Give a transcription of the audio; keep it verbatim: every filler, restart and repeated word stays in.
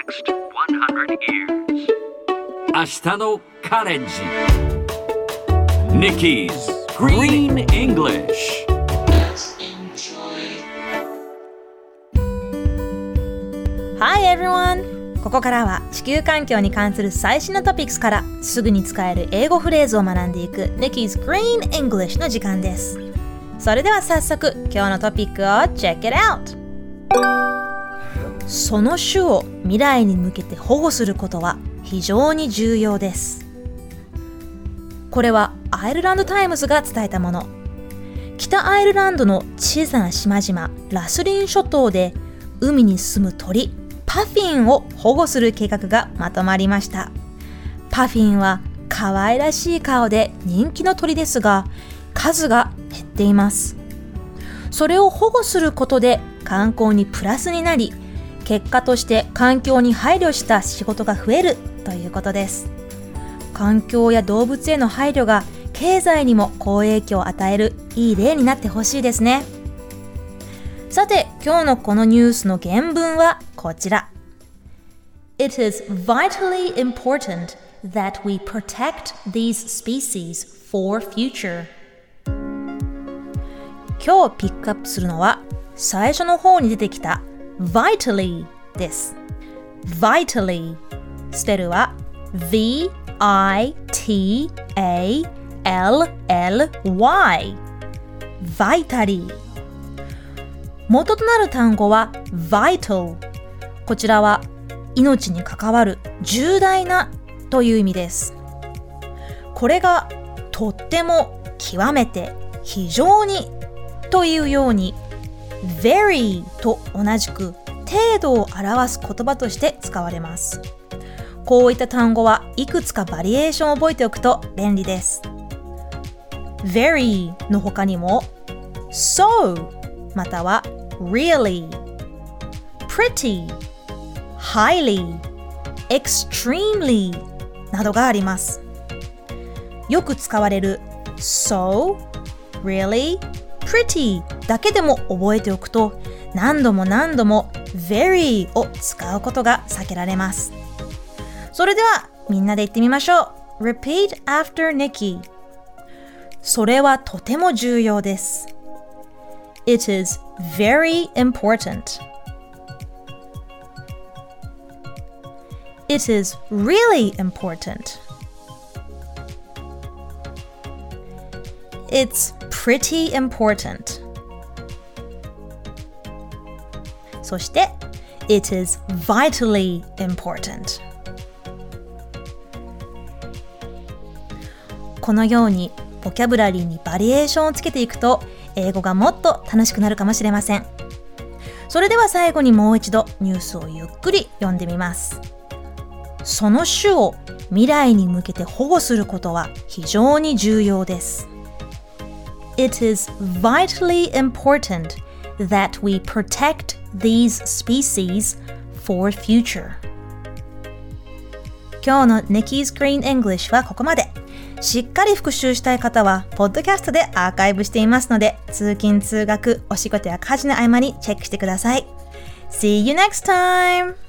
next one hundred years. 明日のカレンジ Nikki's Green English。 Hi everyone! ここからは地球環境に関する最新のトピックスからすぐに使える英語フレーズを学んでいく Nikki's Green English の時間です。それでは早速今日のトピックを Check it out! その種を未来に向けて保護することは非常に重要です。これはアイルランドタイムズが伝えたもの。北アイルランドの小さな島々ラスリン諸島で海に住む鳥パフィンを保護する計画がまとまりました。パフィンは可愛らしい顔で人気の鳥ですが、数が減っています。それを保護することで観光にプラスになり、結果として環境に配慮した仕事が増えるということです。環境や動物への配慮が経済にも好影響を与えるいい例になってほしいですね。さて、今日のこのニュースの原文はこちら。It is vitally important that we protect these species for future. 今日ピックアップするのは最初の方に出てきた vitally です。vitally スペルは V I T A L L Y vitally。元となる単語は vital。こちらは命に関わる重大なという意味です。これがとっても極めて非常にというように very と同じく程度を表す言葉として使われます。こういった単語はいくつかバリエーションを覚えておくと便利です。very の他にも so または really, pretty, highly, extremely などがあります。よく使われる so, really, pretty だけでも覚えておくと、何度も何度も very を使うことが避けられます。それではみんなで言ってみましょう。 Repeat after Nikki。 それはとても重要です。 It is very important. It is really important. It's pretty important. そして It is vitally important. このようにボキャブラリーにバリエーションをつけていくと英語がもっと楽しくなるかもしれません。それでは最後にもう一度ニュースをゆっくり読んでみます。その種を未来に向けて保護することは非常に重要です。It is vitally important that we protect these species for future. 今日の Nikki's Green English はここまで。しっかり復習したい方はポッドキャストでアーカイブしていますので、通勤通学お仕事や家事の合間にチェックしてください。See you next time!